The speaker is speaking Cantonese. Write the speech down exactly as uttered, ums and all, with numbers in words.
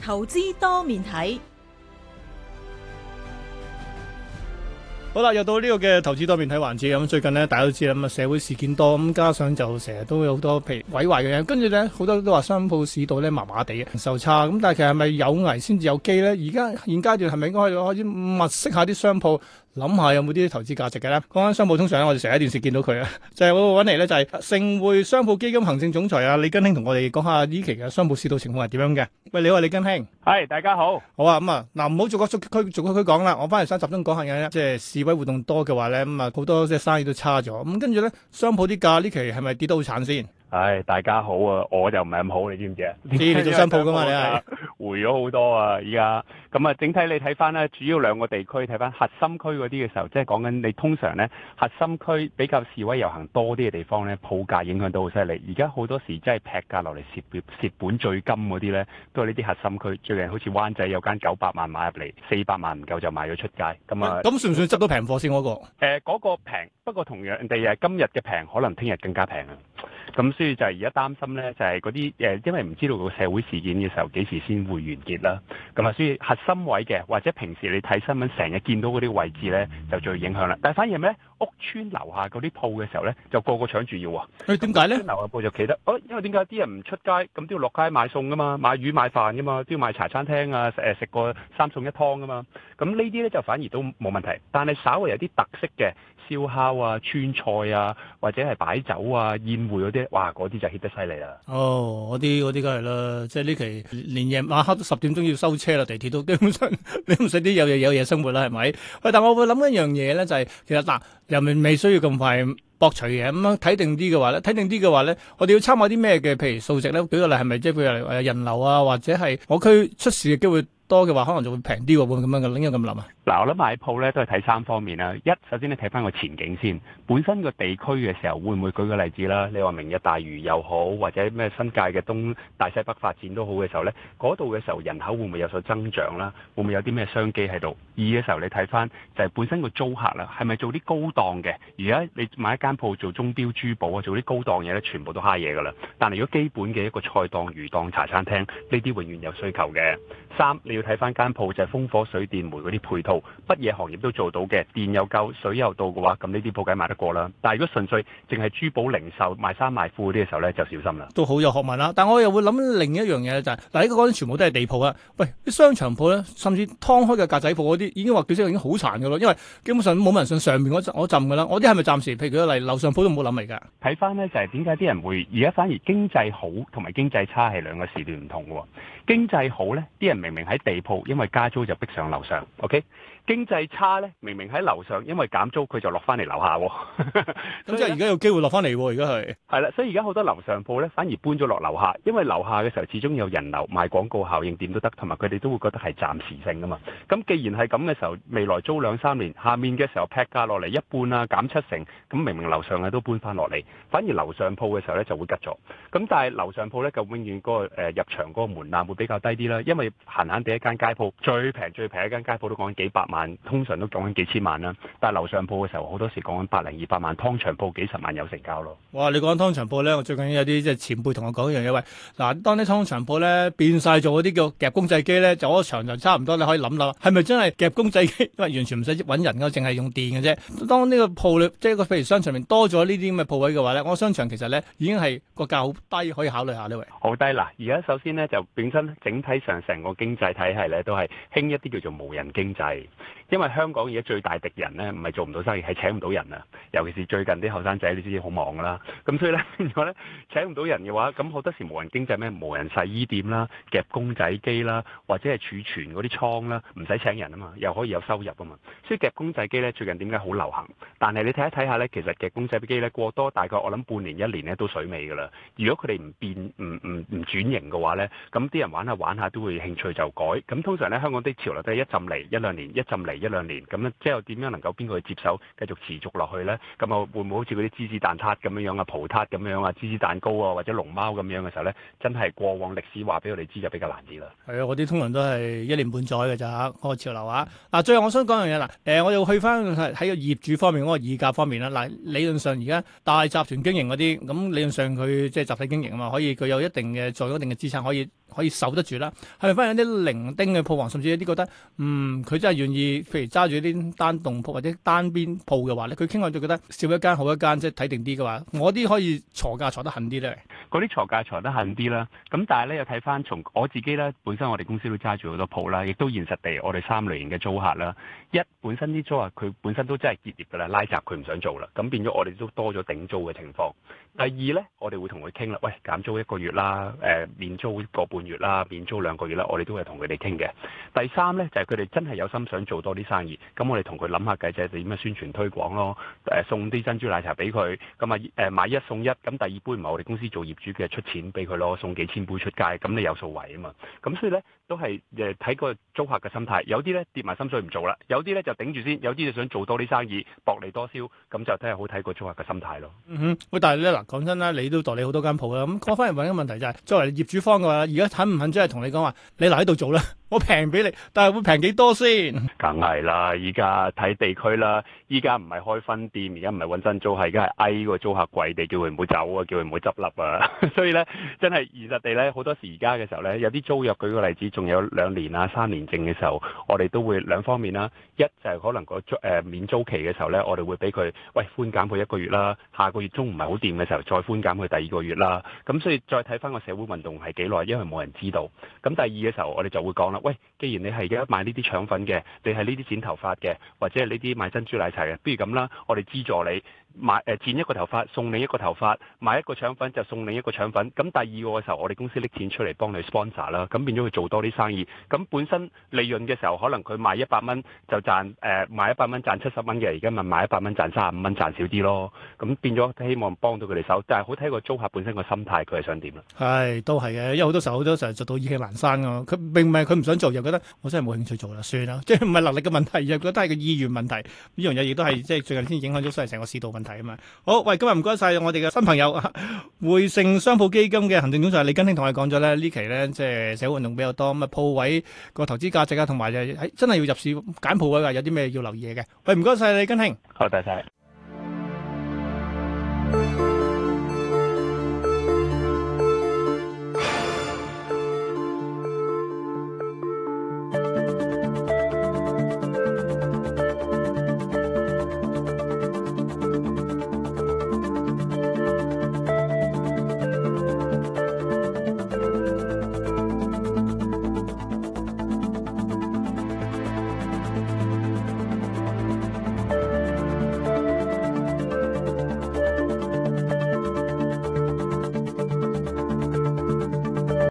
投資多面睇。 好啦，又到呢個嘅投資多面睇環節咁。最近呢，大家都知啦，咁啊社會事件多，咁加上就成日都有好多譬如毀壞嘅嘢，跟住咧好多都話商鋪市道咧麻麻地嘅，零售差。咁但係其實係咪有危先至有機咧？而家現階段係咪應該開始物色下啲商鋪，諗下有冇啲投資價值嘅咧？講緊商鋪，通常我哋成日喺電視見到佢啊，就係我揾嚟咧，就係盛匯商鋪基金行政總裁啊李根興同我哋講下呢期嘅商鋪市道情況係點樣嘅。喂，你好，李根興。 係，大家好。 好啊，咁啊，嗱，唔好逐個逐區逐個區講啦，我翻嚟想集中講下嘅，即係示威活動多嘅話咧，咁啊好多即係生意都差咗，咁跟住咧，商鋪啲價呢期係咪跌得好慘先？ 唉，大家好啊，我就唔係咁好，你知唔知啊？ 知你做商鋪噶嘛，你係回咗好多啊，依家咁啊，整體你睇翻咧，主要兩個地區睇翻核心區嗰啲嘅時候，即係講緊你通常咧核心區比較示威遊行多啲嘅地方咧，鋪價影響都好犀利。而家好多時真係劈價落嚟蝕蝕本最金嗰啲咧，都係呢啲核心區。最近好似灣仔有間九百萬買入嚟，四百萬唔夠就賣咗出街。咁啊， 咁算唔算執到平貨先嗰個？ 誒、呃，嗰、嗰個平，不過同樣地誒，今日嘅平可能聽日更加平啊。咁所以就係而家擔心咧，就係嗰啲誒，因為唔知道個社會事件嘅時候幾時先會完結啦。咁啊，所以核心位嘅或者平時你睇新聞成日見到嗰啲位置咧，就最影響啦。但係反而咩屋村樓下嗰啲鋪嘅時候咧，就個個搶住要喎。 誒點解咧？ 樓下鋪就企得，哦，因為點解啲人唔出街，咁都要落街買餸噶嘛，買魚買飯噶嘛，都要買茶餐廳啊，誒食個三餸一湯噶嘛。咁呢啲咧就反而都冇問題，但係稍微有啲特色嘅燒烤啊、川菜啊，或者係擺酒啊、宴會嗰啲，哇，嗰啲就 hit 得犀利啦。 哦，嗰啲嗰啲梗係啦，即係呢期連夜晚黑都十點鐘要收車啦，地鐵都基本上你唔使啲有嘢有嘢生活啦，係咪？喂，但我會諗一樣嘢咧，就係、是、其實嗱，又未未需要咁快博取嘅，咁樣睇定啲嘅話咧，睇定啲嘅話咧，我哋要參考啲咩嘅？譬如數值咧，舉個例係咪即係譬如誒人流啊，或者係我區出事嘅機會多嘅話，可能就會平啲喎，會咁樣嘅，應該咁諗啊？嗱， 我諗買鋪咧都係睇三方面啦。一，首先你睇翻個前景先，本身個地區嘅時候會唔會舉個例子啦？你話明日大嶼又好，或者咩新界嘅東大西北發展都好嘅時候咧，嗰度嘅時候人口會唔會有所增長啦？會唔會有啲咩商機喺度？二嘅時候你睇翻就係本身個租客啦，係咪做啲高檔嘅？而家你買一間鋪做鐘錶珠寶啊，做啲高檔嘢咧，全部都蝦嘢噶啦。但係如果基本嘅一個菜檔、魚檔、茶餐廳，呢啲永遠有需求嘅。三，你要睇翻間鋪就係風火水電煤嗰啲配套，乜嘢行業都做到嘅，電又夠，水又到嘅話，咁呢啲鋪梗係賣得過啦。但係如果純粹淨係珠寶零售、賣衫賣褲嗰啲嘅時候咧，就小心啦。 都好有學問啦，但我又會諗另一樣嘢就係、是，嗱，呢個講緊全部都係地鋪啊。喂，啲商場鋪咧，甚至劏開嘅格仔鋪嗰啲，已經話叫聲已經好殘噶咯，因為基本上冇人信上面嗰嗰陣噶啦。我啲係咪暫時？譬如舉個例，樓上鋪都冇諗嚟㗎。 睇翻咧就係點解啲人會而家反而經濟好同埋經濟差係兩個時段唔同嘅喎。經濟好咧，啲人明明喺地鋪，因為加租就逼上樓上 ，OK？經濟差咧，明明喺樓上，因為減租佢就落翻嚟樓下喎。 咁即係而家有機會落翻嚟喎，而家係。 係啦，所以而家好多樓上鋪咧，反而搬咗落樓下，因為樓下嘅時候始終有人流賣廣告效應，點都得，同埋佢哋都會覺得係暫時性噶嘛。咁既然係咁嘅時候，未來租兩三年，下面嘅時候劈價落嚟一半啊，減七成，咁明明樓上嘅都搬翻落嚟，反而樓上鋪嘅時候咧就會吉咗。咁但係樓上鋪咧就永遠嗰、嗰個、呃、入場嗰個門檻會比較低啲啦，因為閒閒地一間街鋪最平最平一間街鋪都講緊幾百萬，通常都講緊幾千萬啦。但係樓上鋪嘅時候，好多時講緊百零二百萬，湯場鋪幾十萬有成交咯。 哇！你講湯場鋪咧，我最近有啲即係前輩同我講一樣嘢，喂，嗱，當啲湯場鋪咧變晒做嗰啲叫夾公仔機咧，就嗰場就差唔多，你可以諗諗，係咪真係夾公仔機？因為完全唔使揾人㗎，淨係用電嘅啫。當呢個鋪裏即係個譬如商場面多咗呢啲咁嘅鋪位嘅話咧，我商場其實咧已經係個價好低，可以考慮下呢位。 好低嗱！而家首先咧就本身整體上成個經濟體系咧都係興一啲叫做無人經濟。因為香港而家最大敵人咧，唔係做唔到生意，係請唔到人啊！尤其是最近啲後生仔，你知好忙噶啦。咁所以咧，變咗咧請唔到人嘅話，咁好多時無人經濟咩？無人洗衣店啦、夾公仔機啦，或者係儲存嗰啲倉啦，唔使請人啊嘛，又可以有收入啊嘛。所以夾公仔機咧最近點解好流行？但係你睇一睇下咧，其實夾公仔機咧過多大概我諗半年一年咧都水尾噶啦。如果佢哋唔變唔唔唔轉型嘅話咧，咁啲人玩下玩下都會興趣就改。咁通常咧香港啲潮流都係一浸嚟一兩年，一浸嚟。 一兩年，咁咧即係點樣能夠邊個去接手繼續持續落去咧？咁啊會唔會好似嗰啲芝士蛋撻咁樣樣啊、葡撻咁樣啊、芝士蛋糕啊或者龍貓咁樣嘅時候咧，真係過往歷史話俾我哋知就比較難啲啦。 係啊，嗰啲通常都係一年半載嘅咋嗰個潮流啊！嗱，最後我想講樣嘢啦，誒，我哋去翻喺個業主方面嗰個議價方面啦。嗱，理論上而家大集團經營嗰啲，咁理論上佢即係集體經營啊嘛，可以佢有一定嘅做一定嘅資產，可以可以守得住啦。係咪翻有啲零丁嘅鋪王，甚至有啲覺得，嗯，佢真係願意，譬如揸住啲單棟鋪或者單邊鋪嘅話咧，佢傾向就覺得少一間好一間，即係睇定啲嘅話，我啲可以鋤價鋤得狠啲咧。 嗰啲鋤價鋤得狠啲啦，咁但係咧又睇翻從我自己咧，本身我哋公司都揸住好多鋪啦，亦都現實地我哋三類型嘅租客啦，一本身啲租客佢本身都真係結業㗎啦，拉閘佢唔想做啦，咁變咗我哋都多咗頂租嘅情況。第二咧，我哋會同佢傾啦，喂，減租一個月啦，誒、呃、免租個半月啦，免租兩個月啦，我哋都係同佢哋傾嘅。第三咧就係佢哋真係有心想做多啲生意，咁我哋同佢諗下計，就係點樣宣傳推廣咯，誒、呃、送啲珍珠奶茶俾佢，咁啊誒買一送一，咁第二杯唔係我哋公司做業主嘅出錢俾佢咯，送幾千杯出街，咁你有數為啊嘛，咁所以咧都係誒睇個租客嘅心態，有啲咧跌埋心水唔做啦，有啲咧就頂住先，有啲就想做多啲生意，薄利多銷，咁就睇下好睇個租客嘅心態咯。 嗯哼，喂，但係咧嗱，講真啦，你都代理好多間鋪啦，咁講翻嚟問一個問題就係、是，作為業主方嘅話，而家肯唔肯真係同你講話，你留喺度做啦，我平俾你，但係會平幾多先？ 梗係啦，依家睇地區啦，依家唔係開分店，而家唔係揾新租，係而家係嗌個租客貴地，叫佢唔好走啊，叫佢唔好執笠啊，所以咧真係現實地咧，好多時而家嘅時候咧，有啲租約，舉個例子，仲有兩年啊、三年剩嘅時候，我哋都會兩方面啦，一就係可能個租誒、呃、免租期嘅時候咧，我哋會俾佢喂寬減佢一個月啦，下個月租唔係好掂嘅時候，再寬減佢第二個月啦，咁所以再睇翻個社會運動係幾耐，因為冇人知道。咁第二嘅時候，我哋就會講啦，喂，既然你係而家賣呢啲腸粉嘅，你係呢啲剪頭髮嘅，或者係呢啲賣珍珠奶茶嘅，不如咁啦，我哋資助你。買誒剪一個頭髮送另一個頭髮，買一個腸粉就送另一個腸粉。咁第二個嘅時候，我哋公司拎錢出嚟幫你 sponsor 啦，咁變咗佢做多啲生意。咁本身利潤嘅時候，可能佢賣一百蚊就賺誒、呃、賣一百蚊賺七十蚊嘅，而家咪賣一百蚊賺三十五蚊賺少啲咯。咁變咗希望幫到佢哋手，但係好睇個租客本身個心態，佢係想點啦？係都係嘅，因為好多時候好多時候做到意興闌珊㗎。佢並唔係佢唔想做，又覺得我真係冇興趣做啦，算啦，即係唔係能力嘅問題，又覺得係個意願問題。呢樣嘢亦都係即係最近先影響咗成個市道問題啊嘛。好。喂，今日唔該晒我哋嘅新朋友匯盛商鋪基金嘅行政總裁李根興同我哋講咗咧，呢期咧即係社會運動比較多，咁啊鋪位個投資價值啊，同埋就係真係要入市揀鋪位啊，有啲咩要留意嘅。喂，唔該晒李根興， 好，多謝。